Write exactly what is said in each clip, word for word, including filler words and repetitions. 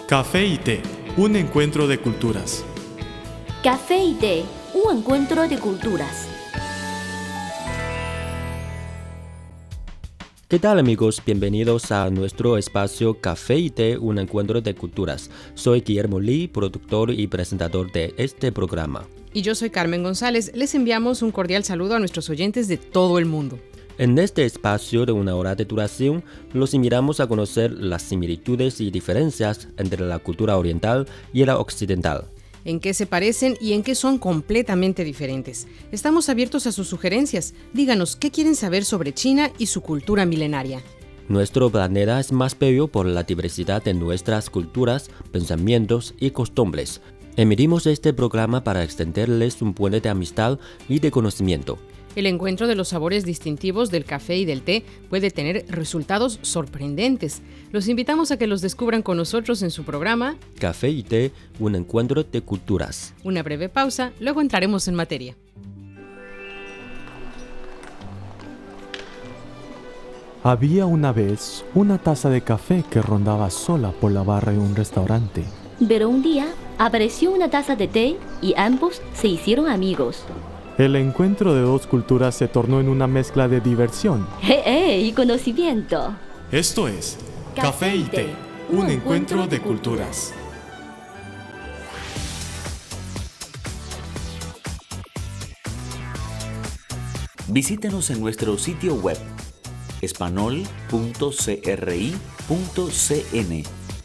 Café y té, un encuentro de culturas. Café y té, un encuentro de culturas. ¿Qué tal, amigos? Bienvenidos a nuestro espacio Café y té, un encuentro de culturas. Soy Guillermo Lee, productor y presentador de este programa. Y yo soy Carmen González. Les enviamos un cordial saludo a nuestros oyentes de todo el mundo. En este espacio de una hora de duración, los invitamos a conocer las similitudes y diferencias entre la cultura oriental y la occidental. En qué se parecen y en qué son completamente diferentes. Estamos abiertos a sus sugerencias. Díganos qué quieren saber sobre China y su cultura milenaria. Nuestro planeta es más bello por la diversidad de nuestras culturas, pensamientos y costumbres. Emitimos este programa para extenderles un puente de amistad y de conocimiento. El encuentro de los sabores distintivos del café y del té puede tener resultados sorprendentes. Los invitamos a que los descubran con nosotros en su programa Café y té, un encuentro de culturas. Una breve pausa, luego entraremos en materia. Había una vez una taza de café que rondaba sola por la barra de un restaurante. Pero un día apareció una taza de té y ambos se hicieron amigos. El encuentro de dos culturas se tornó en una mezcla de diversión. ¡Eh, eh! Y conocimiento. Esto es Café y té, un encuentro de culturas. Visítenos en nuestro sitio web espanol punto cri punto cn.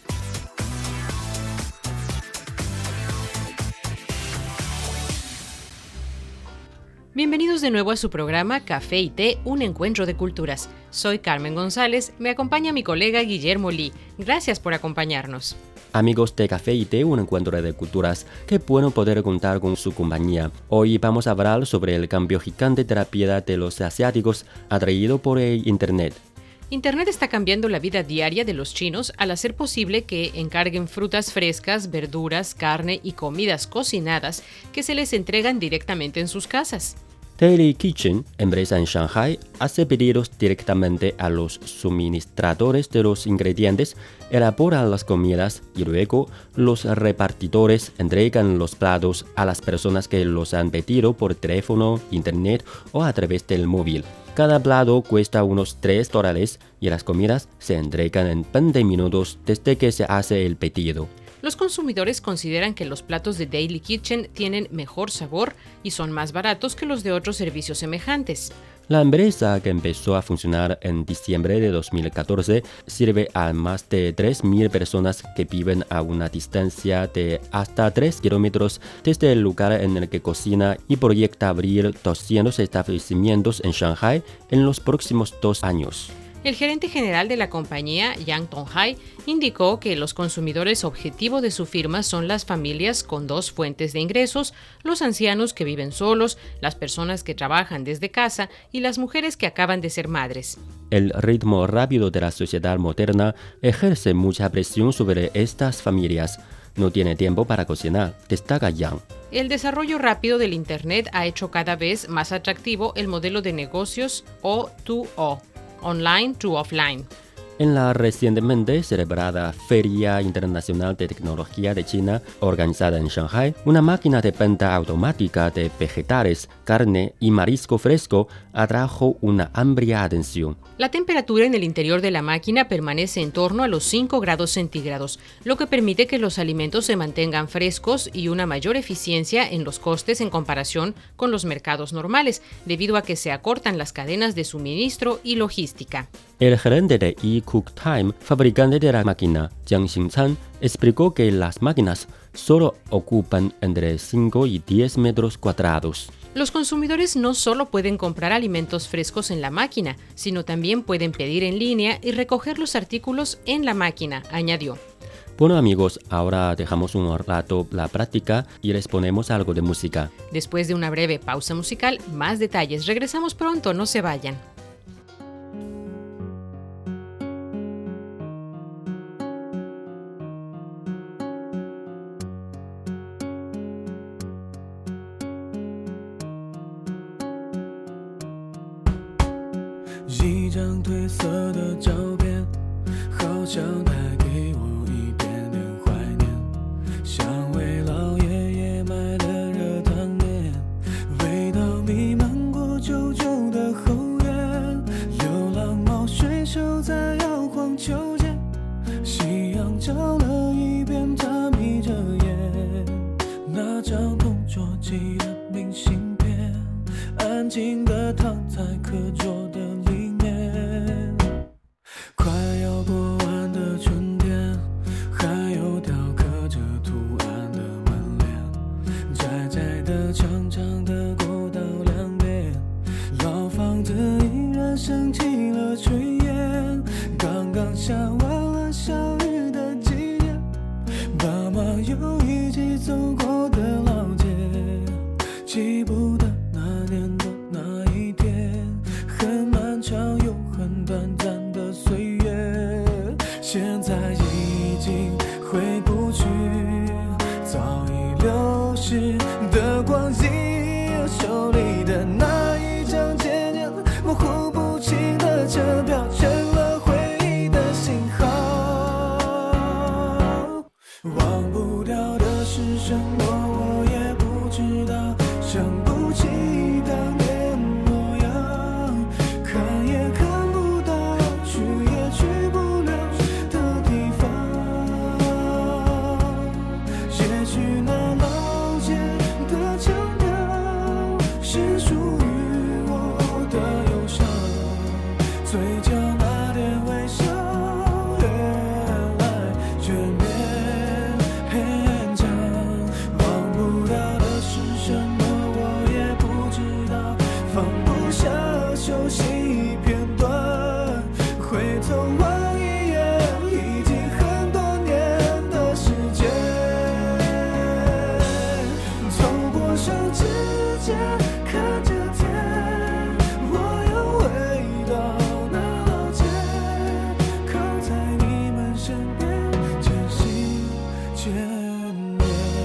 Bienvenidos de nuevo a su programa Café y té, un encuentro de culturas. Soy Carmen González, me acompaña mi colega Guillermo Lee. Gracias por acompañarnos. Amigos de Café y té, un encuentro de culturas, qué bueno poder contar con su compañía. Hoy vamos a hablar sobre el cambio gigante de la vida de los asiáticos atraído por el Internet. Internet está cambiando la vida diaria de los chinos al hacer posible que encarguen frutas frescas, verduras, carne y comidas cocinadas que se les entregan directamente en sus casas. Daily Kitchen, empresa en Shanghai, hace pedidos directamente a los suministradores de los ingredientes, elabora las comidas y luego los repartidores entregan los platos a las personas que los han pedido por teléfono, internet o a través del móvil. Cada plato cuesta unos tres dólares y las comidas se entregan en veinte minutos desde que se hace el pedido. Los consumidores consideran que los platos de Daily Kitchen tienen mejor sabor y son más baratos que los de otros servicios semejantes. La empresa, que empezó a funcionar en diciembre de dos mil catorce, sirve a más de tres mil personas que viven a una distancia de hasta tres kilómetros desde el lugar en el que cocina y proyecta abrir doscientos establecimientos en Shanghai en los próximos dos años. El gerente general de la compañía, Yang Donghai, indicó que los consumidores objetivo de su firma son las familias con dos fuentes de ingresos, los ancianos que viven solos, las personas que trabajan desde casa y las mujeres que acaban de ser madres. El ritmo rápido de la sociedad moderna ejerce mucha presión sobre estas familias. No tiene tiempo para cocinar, destaca Yang. El desarrollo rápido del Internet ha hecho cada vez más atractivo el modelo de negocios O dos O. Online to Offline. En la recientemente celebrada Feria Internacional de Tecnología de China, organizada en Shanghai, una máquina de venta automática de vegetales, carne y marisco fresco atrajo una amplia atención. La temperatura en el interior de la máquina permanece en torno a los cinco grados centígrados, lo que permite que los alimentos se mantengan frescos y una mayor eficiencia en los costes en comparación con los mercados normales, debido a que se acortan las cadenas de suministro y logística. El gerente de eCookTime, fabricante de la máquina, Jiang Xingchan, explicó que las máquinas solo ocupan entre cinco y diez metros cuadrados. Los consumidores no solo pueden comprar alimentos frescos en la máquina, sino también pueden pedir en línea y recoger los artículos en la máquina, añadió. Bueno, amigos, ahora dejamos un rato la práctica y les ponemos algo de música. Después de una breve pausa musical, más detalles. Regresamos pronto, no se vayan. 一张褪色的照片，好像带给我一点点怀角那点微笑越来越勉强，忘不掉的是什么我也不知道，放不下熟悉片段，回头望一眼已经很多年的时间，透过手指甲看着天，我又回到那老街，靠在你们身边渐行渐远。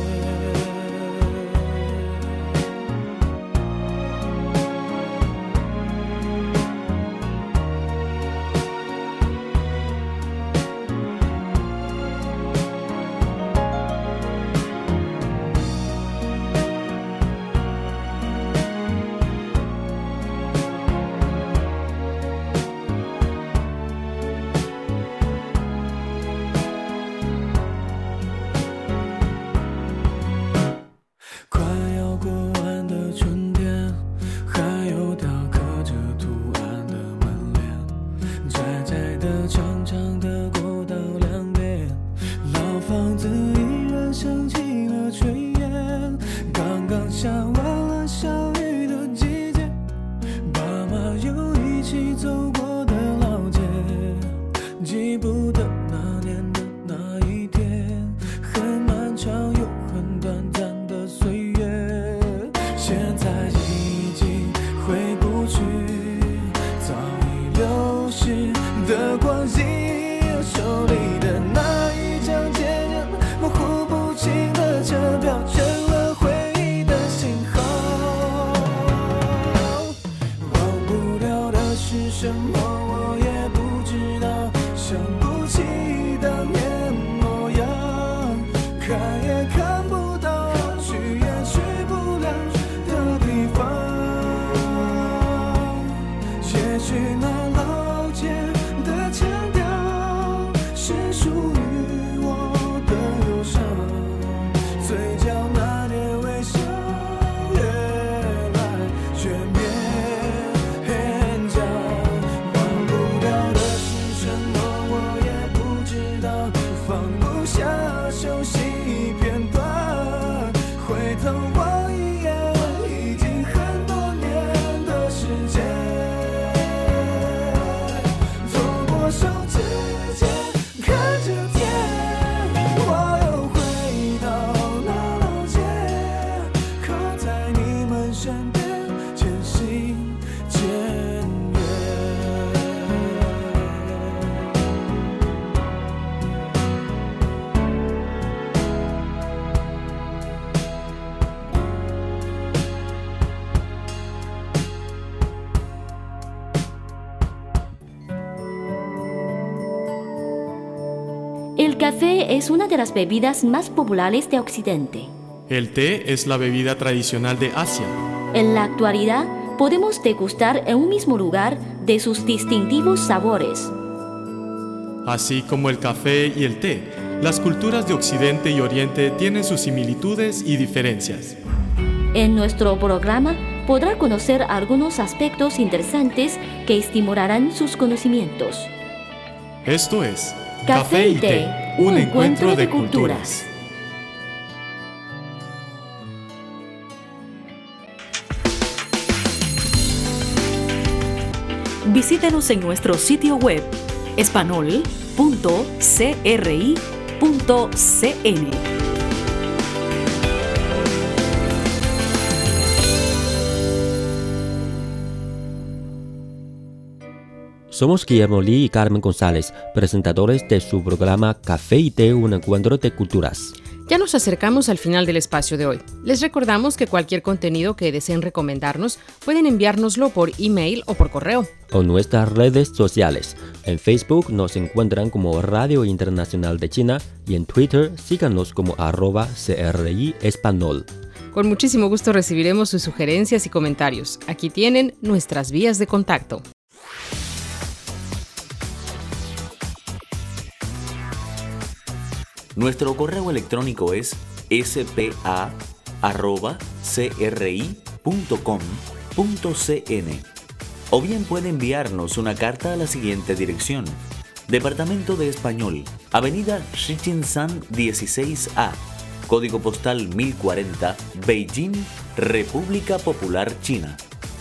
快要过完的春天，还有条刻着图案的门帘，窄窄的长长的过道两边，老房子依然升起了炊烟，刚刚下完了小雨的季节，爸妈又一起走过的老街，记不得那年的那一天，很漫长又很短暂的岁月，现在已经回不去，早已流逝的光阴，手里的那一张渐渐模糊不清的车票，成了回忆的信号。忘不了的是什么我也不知道，想不起当年模样，看也看不到，去也去不了的地方。也许那老街的腔调是属于我的忧伤，嘴角那点微笑越来越勉强，忘不掉的是什么我也不知道，放不下熟悉片段，回头望一眼已经很多年的时间，透过手指尖看着天，我又回到那老街，靠在你们身边渐行渐远。 El café es una de las bebidas más populares de Occidente. El té es la bebida tradicional de Asia. En la actualidad, podemos degustar en un mismo lugar de sus distintivos sabores. Así como el café y el té, las culturas de Occidente y Oriente tienen sus similitudes y diferencias. En nuestro programa podrá conocer algunos aspectos interesantes que estimularán sus conocimientos. Esto es Café y té, un encuentro de culturas. Visítenos en nuestro sitio web espanol punto c r i punto c n. Somos Guillermo Lee y Carmen González, presentadores de su programa Café y Té, un encuentro de culturas. Ya nos acercamos al final del espacio de hoy. Les recordamos que cualquier contenido que deseen recomendarnos pueden enviárnoslo por email o por correo. O nuestras redes sociales. En Facebook nos encuentran como Radio Internacional de China y en Twitter síganos como arroba C R I Espanol. Con muchísimo gusto recibiremos sus sugerencias y comentarios. Aquí tienen nuestras vías de contacto. Nuestro correo electrónico es s p a arroba c r i punto com punto c n o bien puede enviarnos una carta a la siguiente dirección: Departamento de Español, Avenida Shichinshan dieciséis A, Código Postal mil cuarenta, Beijing, República Popular China.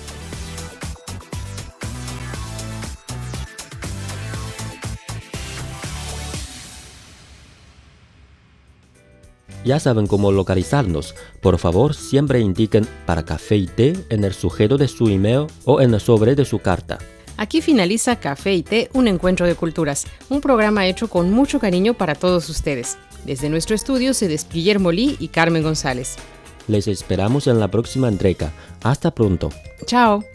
Ya saben cómo localizarnos. Por favor, siempre indiquen para café y té en el sujeto de su email o en el sobre de su carta. Aquí finaliza Café y Té, un encuentro de culturas, un programa hecho con mucho cariño para todos ustedes. Desde nuestro estudio se despide Guillermo Lee y Carmen González. Les esperamos en la próxima entrega. Hasta pronto. Chao.